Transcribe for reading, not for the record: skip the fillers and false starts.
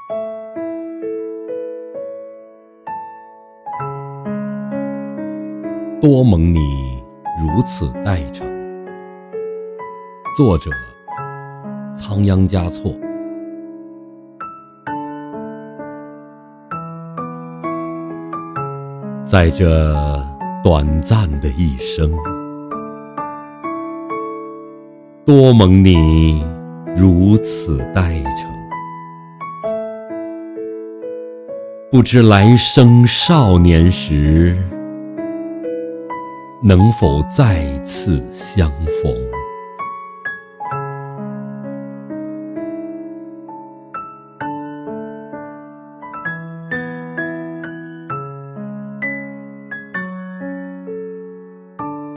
多蒙你如此待诚。作者：仓央嘉措。在这短暂的一生，多蒙你如此待诚。不知来生少年时，能否再次相逢？